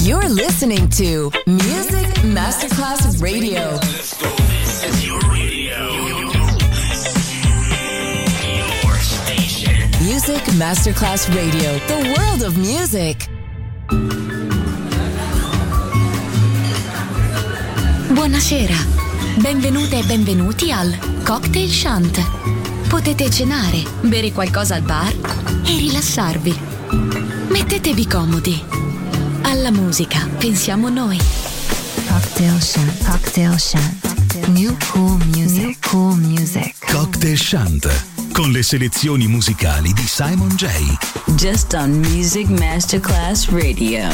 You're listening to Music Masterclass Radio. Let's go. This is your radio. Your station. Music Masterclass Radio. The world of music. Buonasera. Benvenute e benvenuti al Cocktail Shant. Potete cenare, bere qualcosa al bar e rilassarvi. Mettetevi comodi. Alla musica pensiamo noi. Cocktail Shant. Cocktail Shant. New cool music. New cool music. Cocktail Shant, con le selezioni musicali di Simon J. Just on Music Masterclass Radio.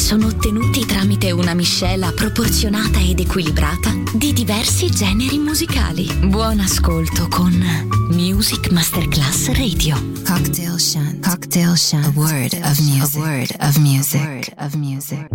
sono ottenuti tramite una miscela proporzionata ed equilibrata di diversi generi musicali. Buon ascolto con Music Masterclass Radio. Cocktail Shant. Cocktail Shant. A word of music. A word of music. A word of music.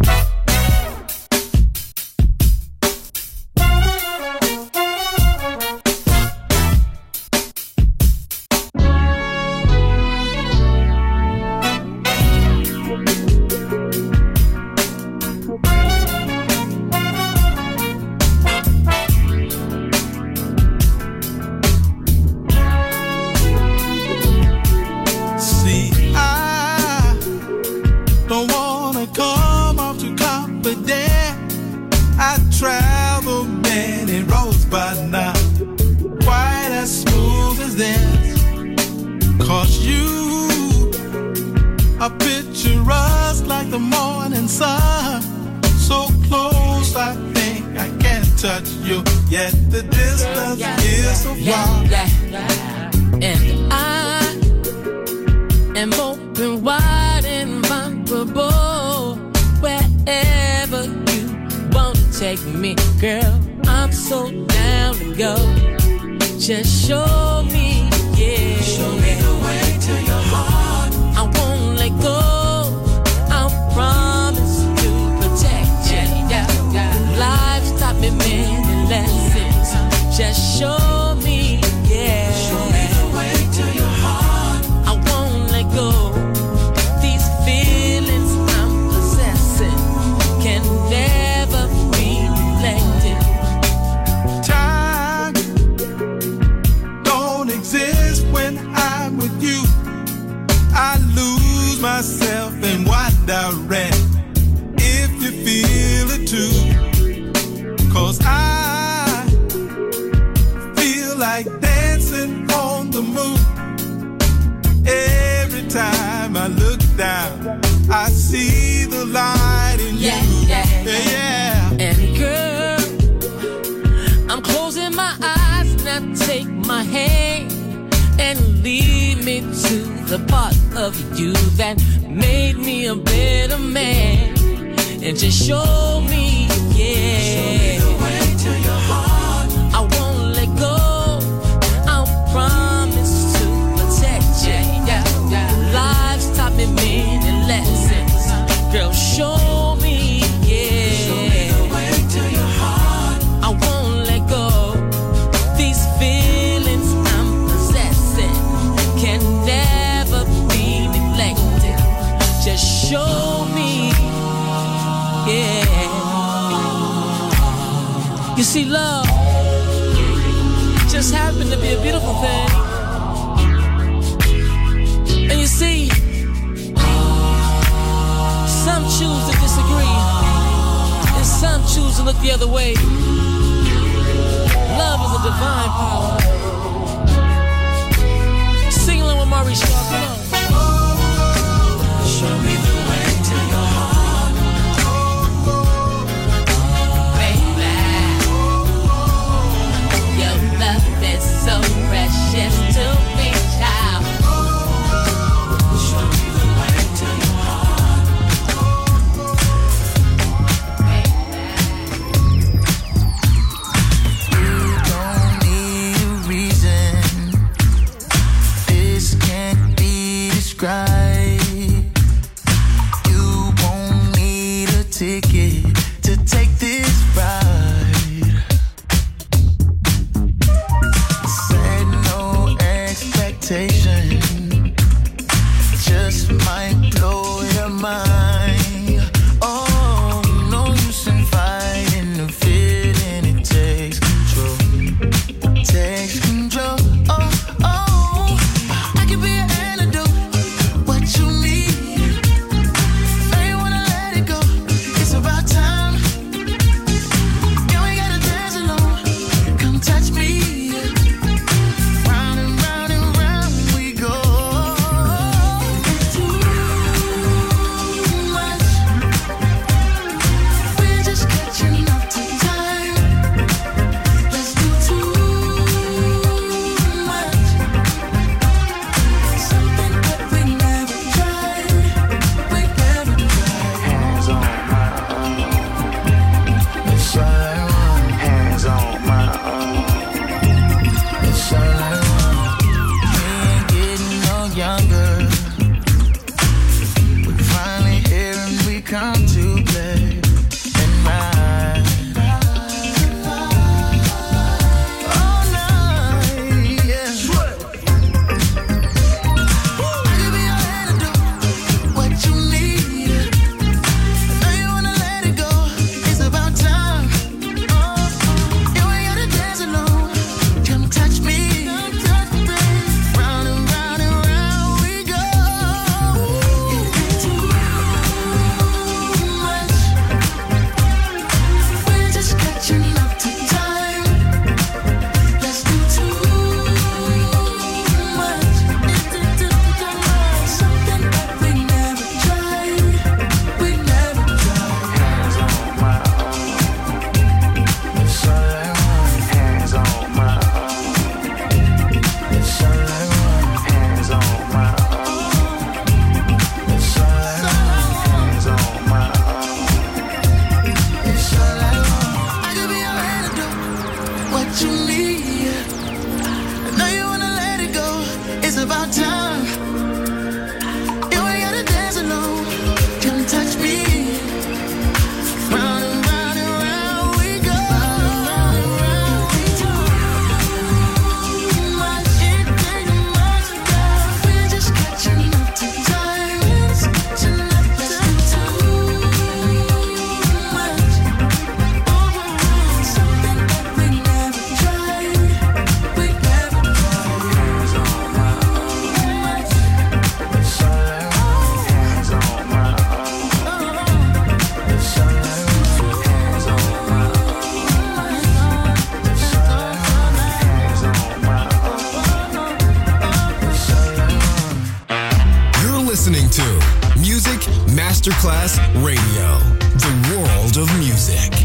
You see, love just happened to be a beautiful thing. And you see, some choose to disagree, and some choose to look the other way. Love is a divine power. Sing along with Maurice Shaw, come on. Show me the way to your heart, baby. Your love is so precious to me, child. Show me the way to your heart, baby. You don't need a reason. This can't be Masterclass Radio, the world of music.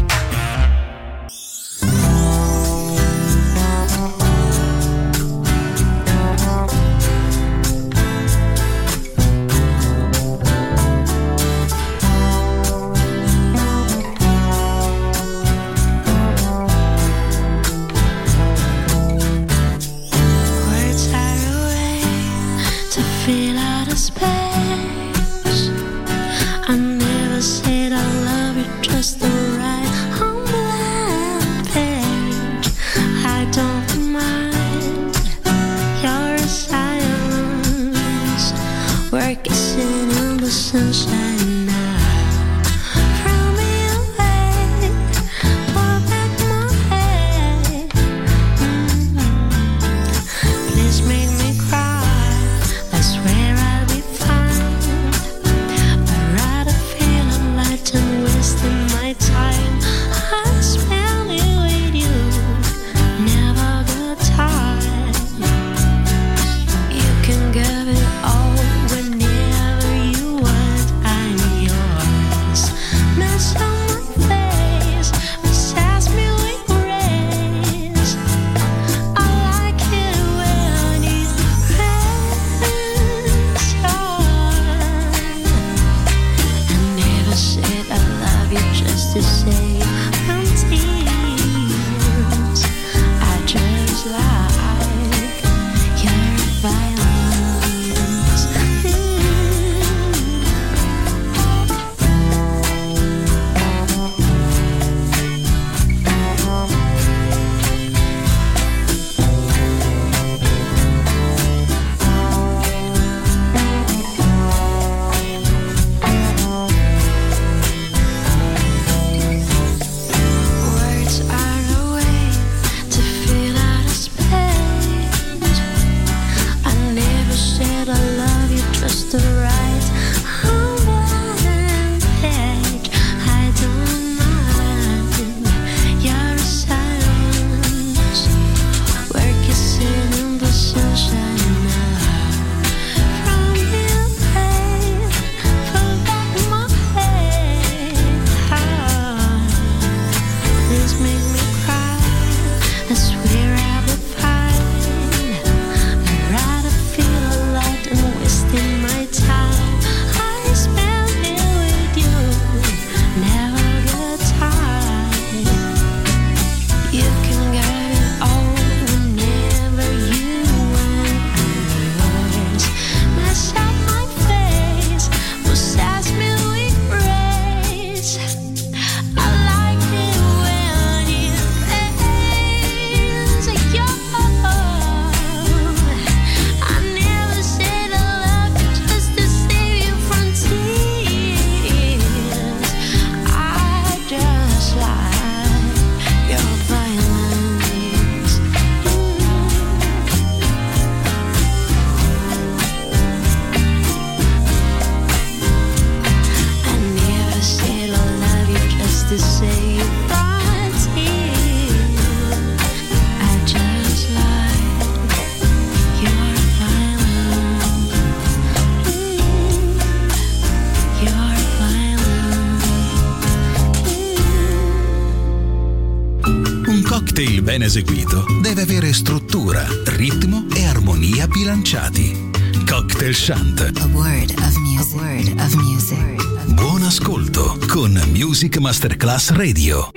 Ben eseguito deve avere struttura, ritmo e armonia bilanciati. Cocktail Shant. A word of music. A word of music. Buon ascolto con Music Masterclass Radio.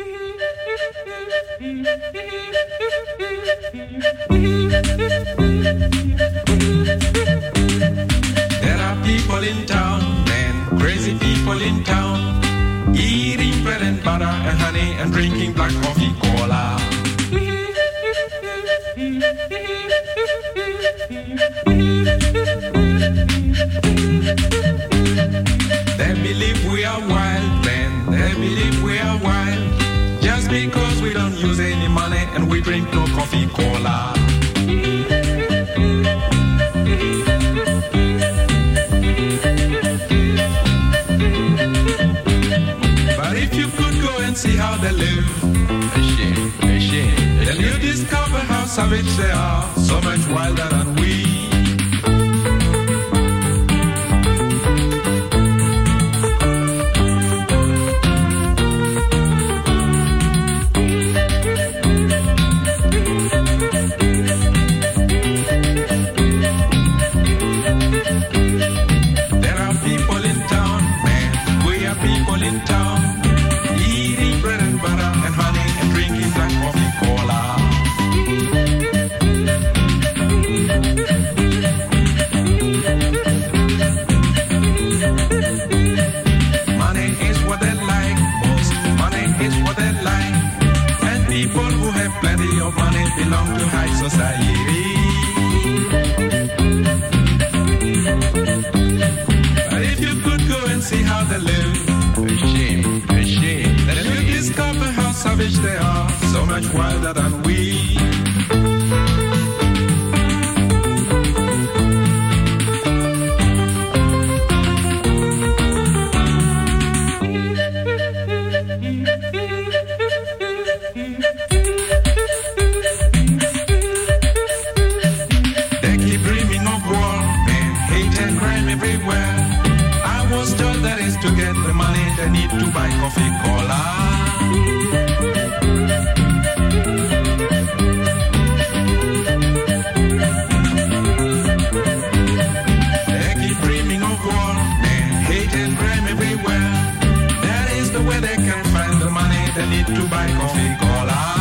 There are people in town, man, crazy people in town, eating bread and butter and honey and drinking black coffee cola. They believe we are wild, man, they believe we are wild, just because we don't use any money and we drink no coffee cola. But if you could go and see how they live, then you discover how savage they are, so much wilder than we. people who have plenty of money belong to high society. But if you could go and see how they live, a shame, then you discover how savage they are, so much wilder than we. They need to buy coffee cola. They keep dreaming of war and hate and crime everywhere. That is the way they can find the money they need to buy coffee cola.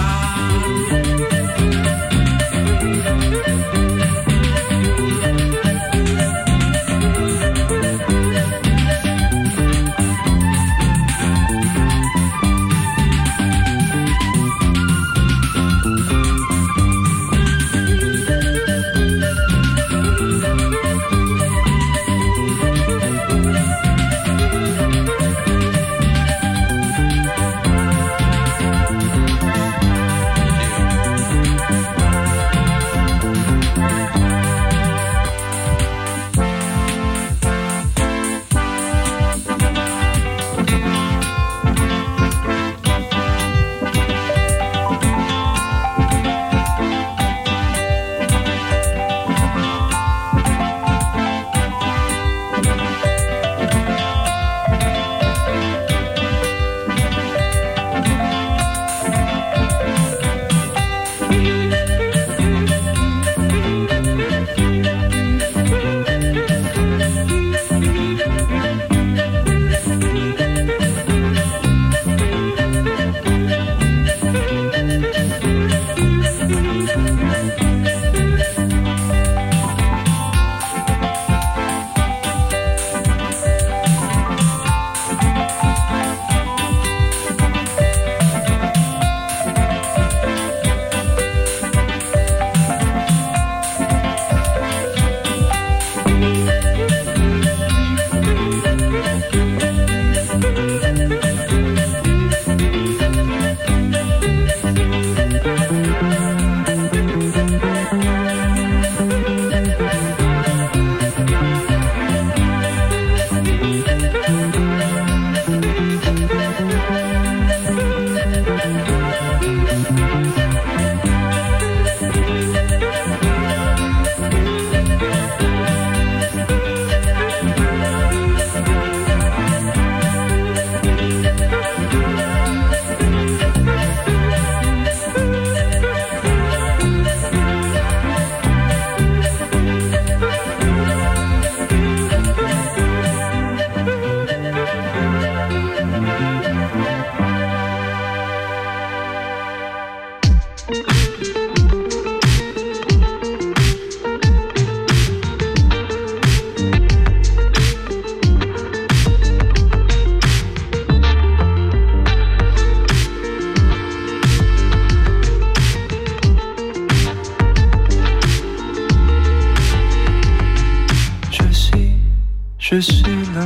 Je suis la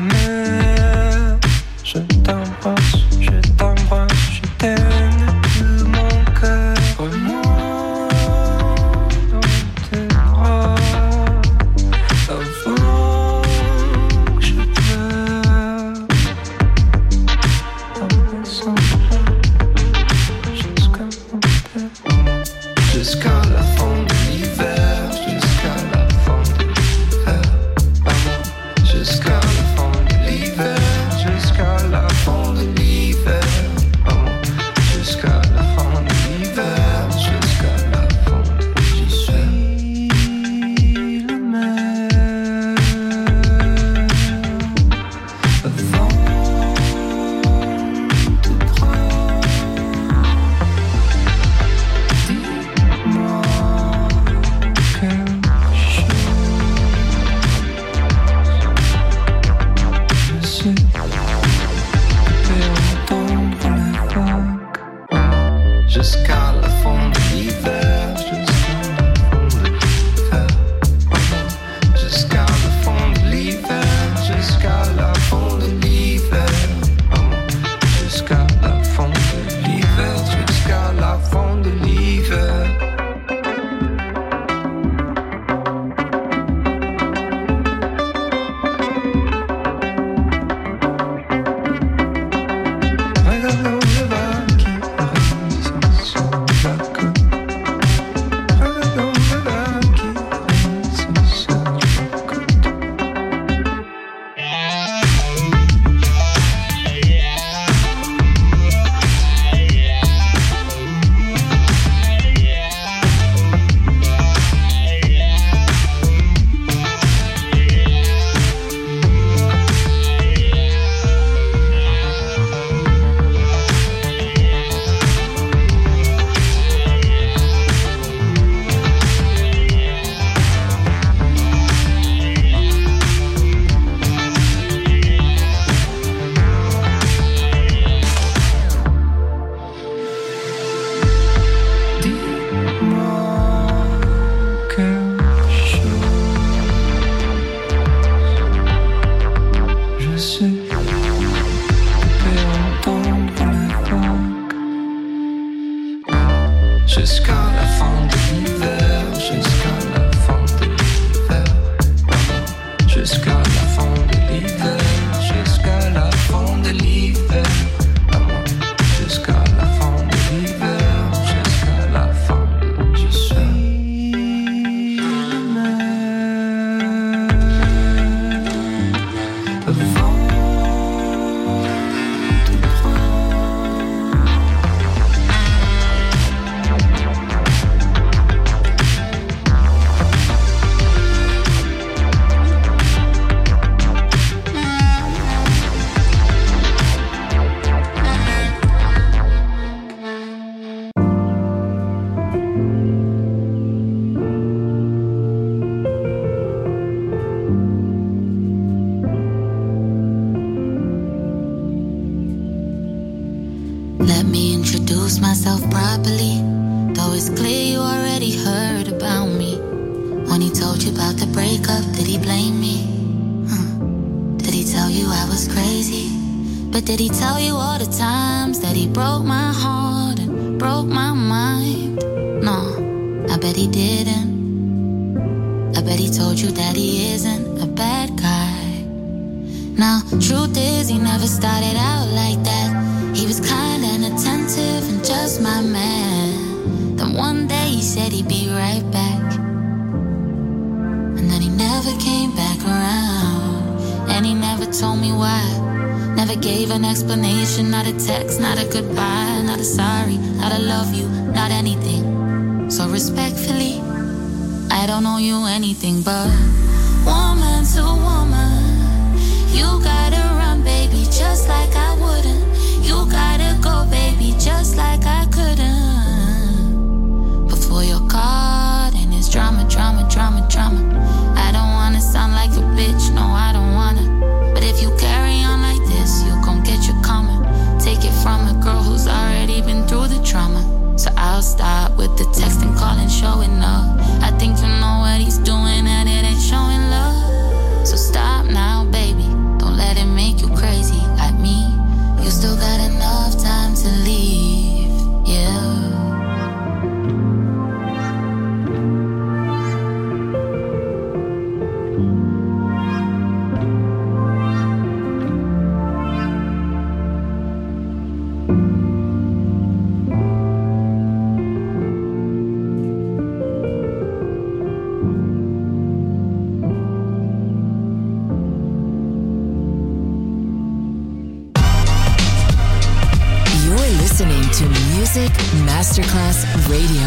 mer, je t'embrasse, je t'aime de mon cœur. Moi dans tes bras, avant que je pleure. En passant jusqu'à mon père, jusqu'à la fin de l'hiver, jusqu'à la fin de l'hiver. Jusqu'à la fin de l'hiver, jusqu'à la fin de l'hiver, jusqu'à la fin de l'hiver, jusqu'à la fin de l'hiver. Je suis la mer avant de prendre. Dis-moi. jusqu'à la fin de l'hiver, jusqu'à la fin de l'hiver, jusqu'à la fin de l'hiver, jusqu'à la fin de l'hiver, jusqu'à la fin de l'hiver, jusqu'à la fin de je suis le maire, le vent te prend. Let me introduce myself properly. Though it's clear you already heard about me. When he told you about the breakup, did he blame me? Did he tell you I was crazy? But did he tell you all the times that he broke my heart and broke my mind? No, I bet he didn't. I bet he told you that he isn't a bad guy. Now, truth is, he never started out like that. He was kind and attentive and just my man. Then one day he said he'd be right back. And then he never came back around. And he never told me why. Never gave an explanation, not a text, not a goodbye, not a sorry, not a love you, not anything. So respectfully, I don't owe you anything but woman to woman. You gotta run, baby, just like I wouldn't. You gotta go, baby, just like I couldn't. Before you're caught in this drama, drama, drama, drama. I don't wanna sound like a bitch, no, I don't wanna. But if you carry on like this, you gon' get your karma. Take it from a girl who's already been through the trauma. So I'll start with the texting, calling, showing up. I think you know what he's doing and it ain't showing love. So stop now, baby, don't let it make you crazy like me. You still got enough time to leave, yeah. Listening to Music Masterclass Radio.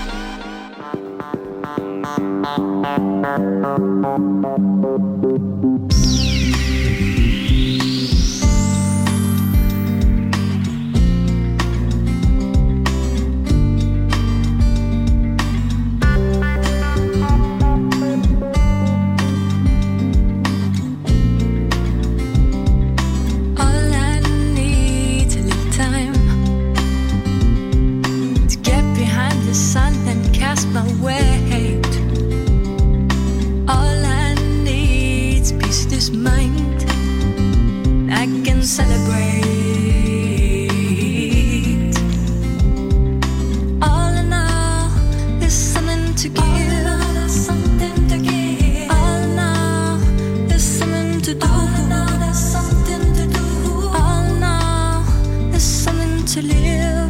My weight. All I need's peace this mind. I can celebrate. All in all, there's something to give. All in all, there's something to give. All in all, there's something to do. All in all, there's something to do. All in all, there's something to live.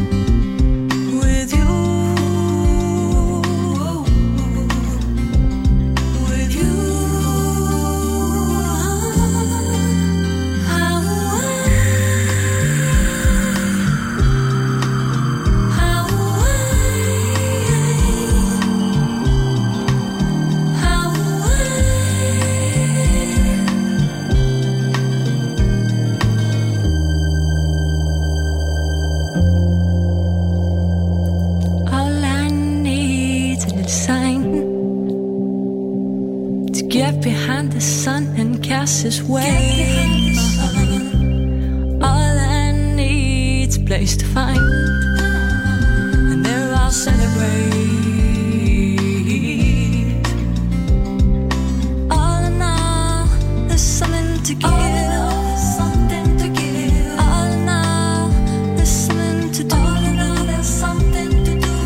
Behind the sun and cast his way. All I need's a place to find, and there I'll celebrate. All in all, there's something to give. All in all, there's something to do. All in all, there's something to do.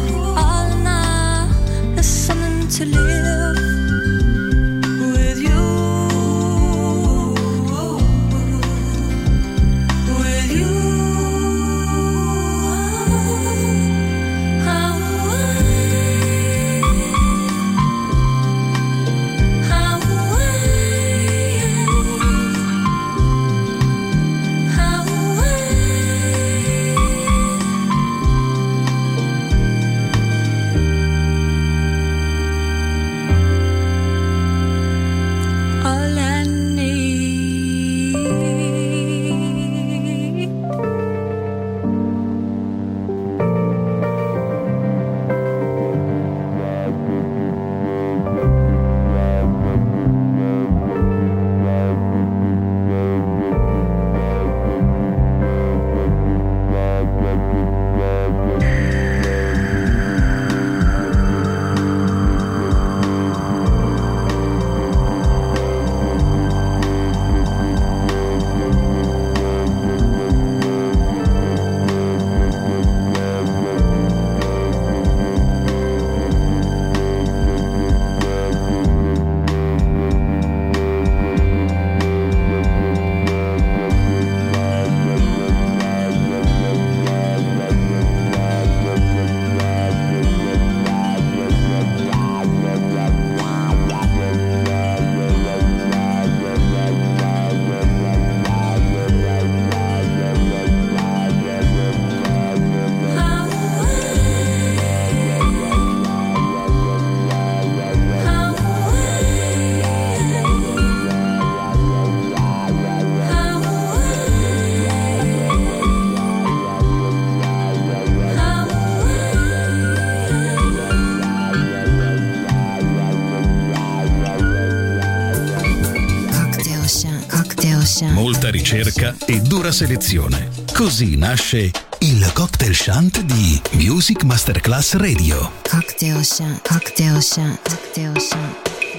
molta ricerca e dura selezione. Così nasce il Cocktail Shant di Music Masterclass Radio. Cocktail Shant, Cocktail Shant, Cocktail Shant.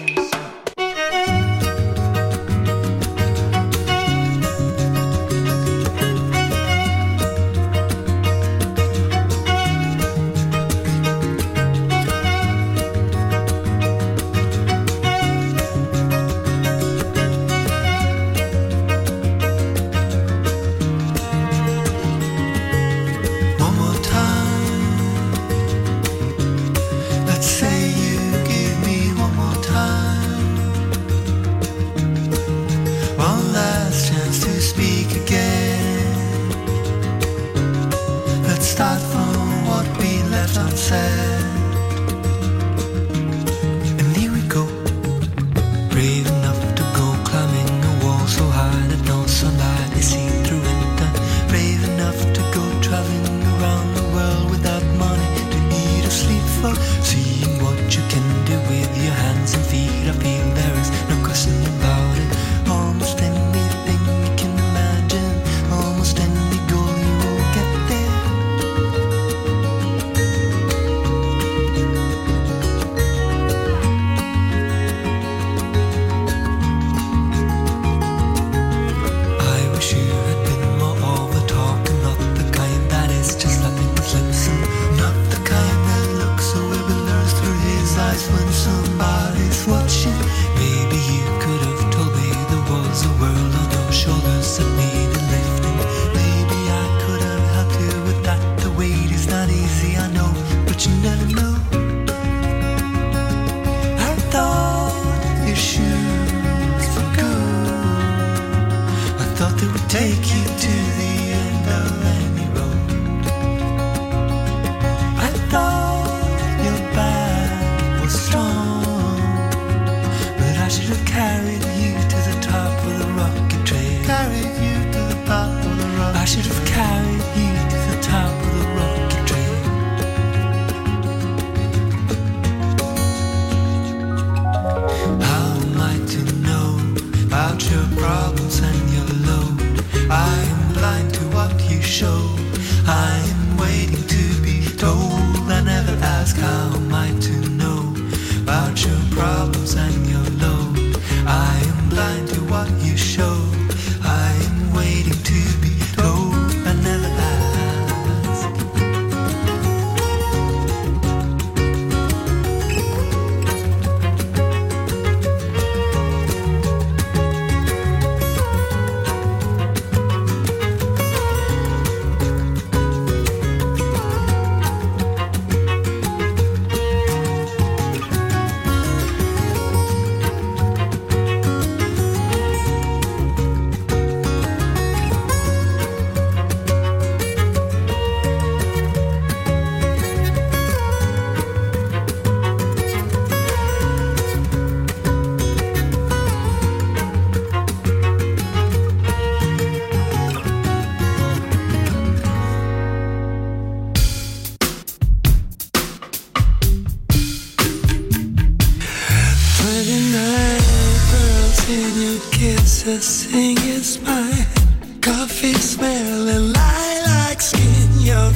Sing it smile, coffee smell and lilac skin, you're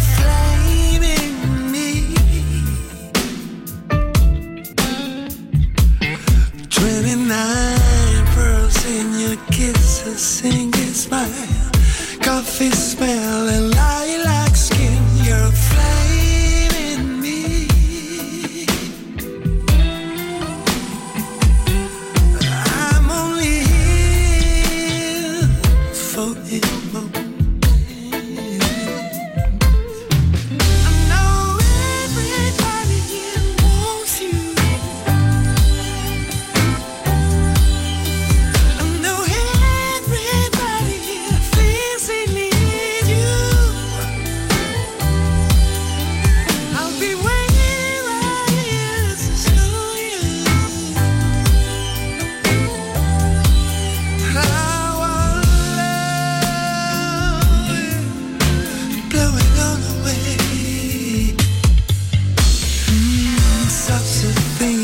flaming me. 29 pearls in your kisses, sing it smile, coffee smell and lilac skin, you're flaming me. I'm only for it.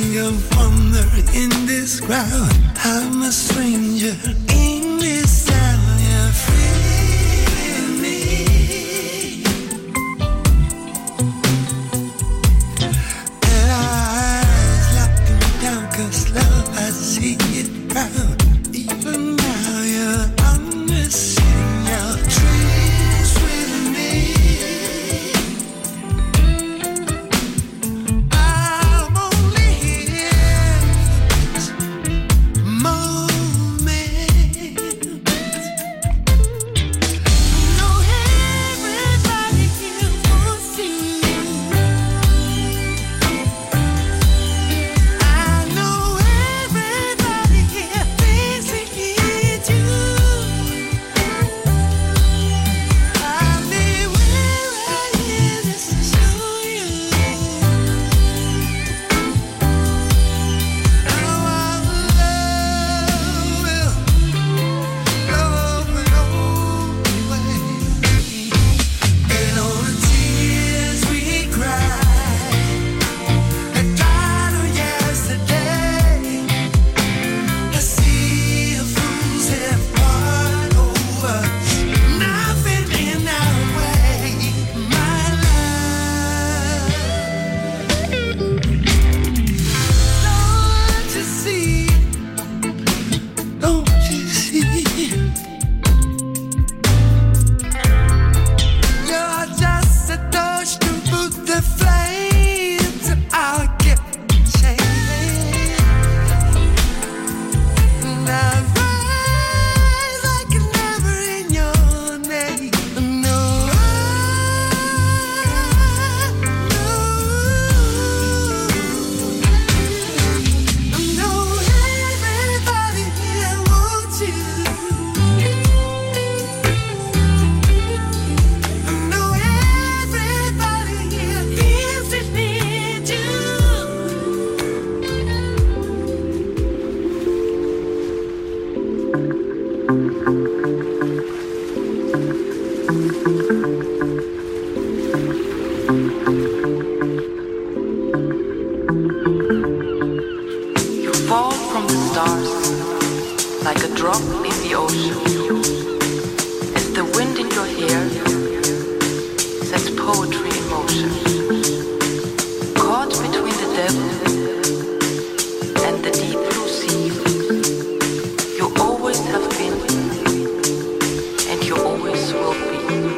I'm a stranger in this town. rock in the ocean. It's the wind in your hair sets poetry in motion. Caught between the devil and the deep blue sea, you always have been, and you always will be.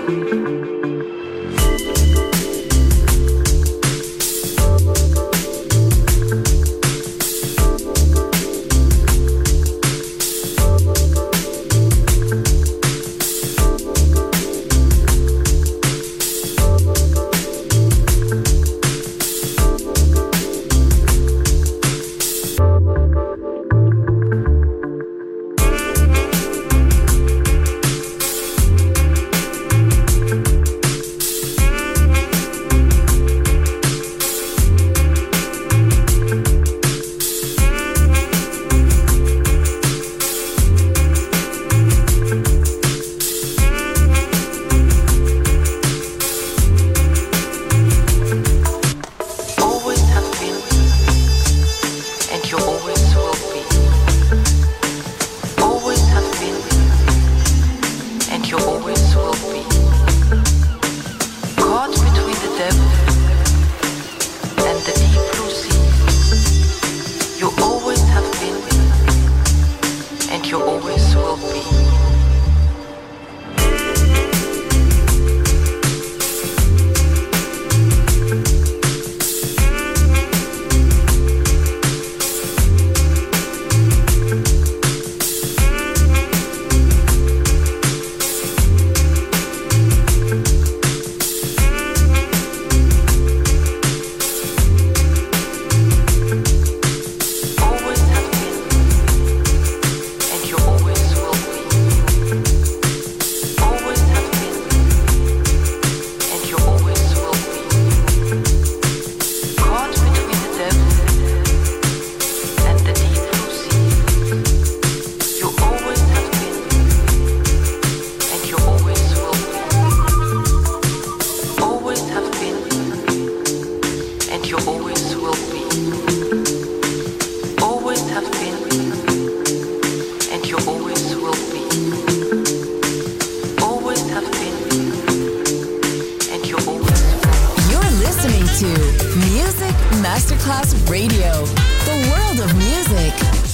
Masterclass Radio, the world of music.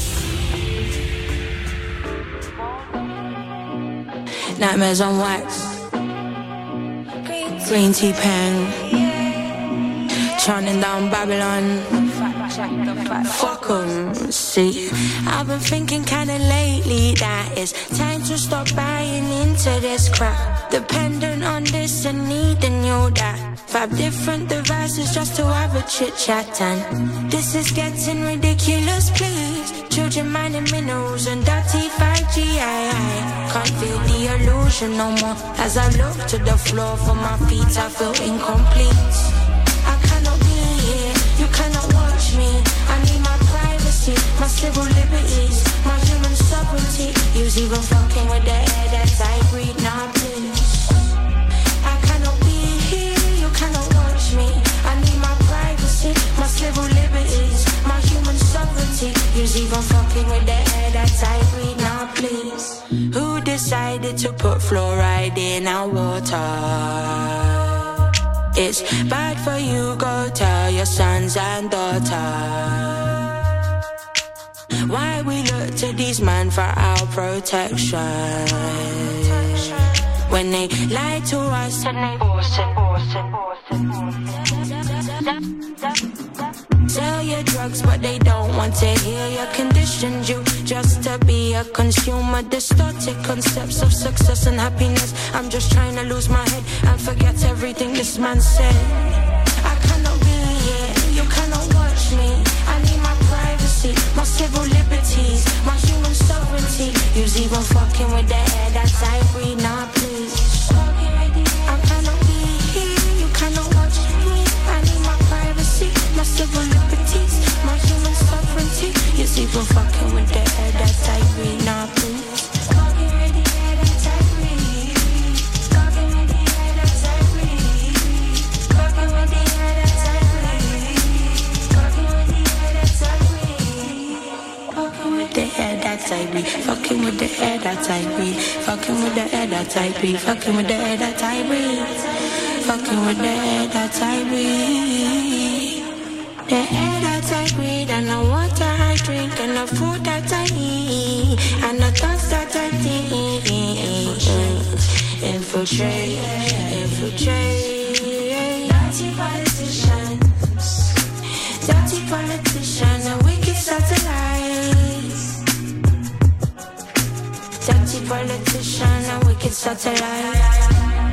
Nightmares on wax, green tea pen, chanting down Babylon. Fuck 'em, see. I've been thinking kinda lately that it's time to stop buying into this crap. Dependent on this and needing you that. 5 different devices just to have a chit chat, and this is getting ridiculous, please. Children mining minerals and dirty 5G. I can't feel the illusion no more. As I look to the floor for my feet, I feel incomplete. I cannot be here, you cannot watch me. I need my privacy, my civil liberties, my human sovereignty. You's even fucking with the air that I breathe now, please. I cannot be here, you cannot watch me. I need my privacy, my civil liberties, my human sovereignty. You's even fucking with the air that I breathe now, please. Who decided to put fluoride in our water? It's bad for you, go tell your sons and daughters. Why we look to these men for our protection when they lie to us and they sell your drugs, but they don't want to heal your conditions. You just to be a consumer, distorted concepts of success and happiness. I'm just trying to lose my head and forget everything this man said. I cannot be here, you cannot watch me. I need my privacy, my civil liberties, my human sovereignty. You's even fucking with the air that I breathe now, please. I cannot be here, you cannot watch me. I need my privacy, my civil liberties, my human sovereignty. You's even fucking with the air that I breathe now, please. The air that I breathe, fucking with with the air that I breathe. Fucking with the air that I breathe. Fucking with the air that I breathe. Fucking with the air that I breathe. The air that I breathe and the water I drink and the food that I eat and the thoughts that I think. Infiltrate, infiltrate. Dirty politicians, dirty politicians and wicked satellites. Dirty politicians and wicked satellites.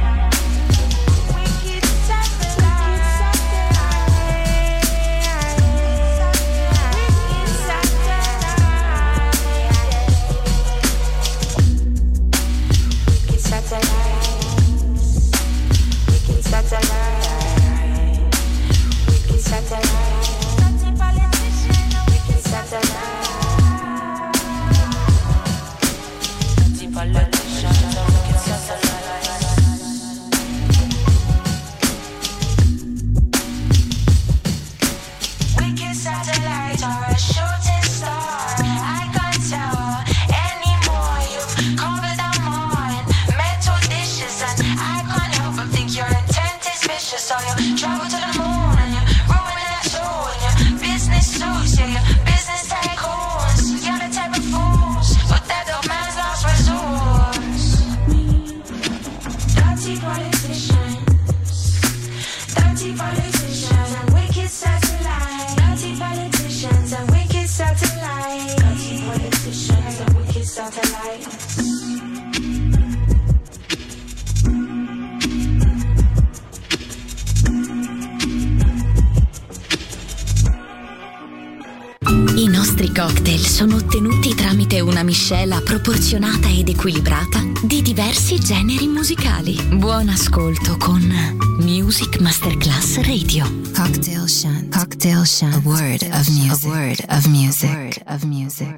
I nostri cocktail sono ottenuti tramite una miscela proporzionata ed equilibrata di diversi generi musicali. Buon ascolto con Music Masterclass Radio. Cocktail Shant. Cocktail Shant. A word of music. A word of music. A word of music.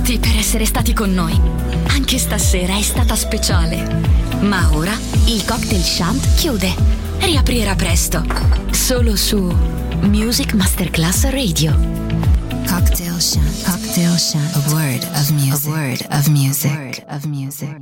tutti per essere stati con noi. Anche stasera è stata speciale. Ma ora il Cocktail Shant chiude. Riaprirà presto. Solo su Music Masterclass Radio. Cocktail Shant. Cocktail Shant. A word of music. A word of music.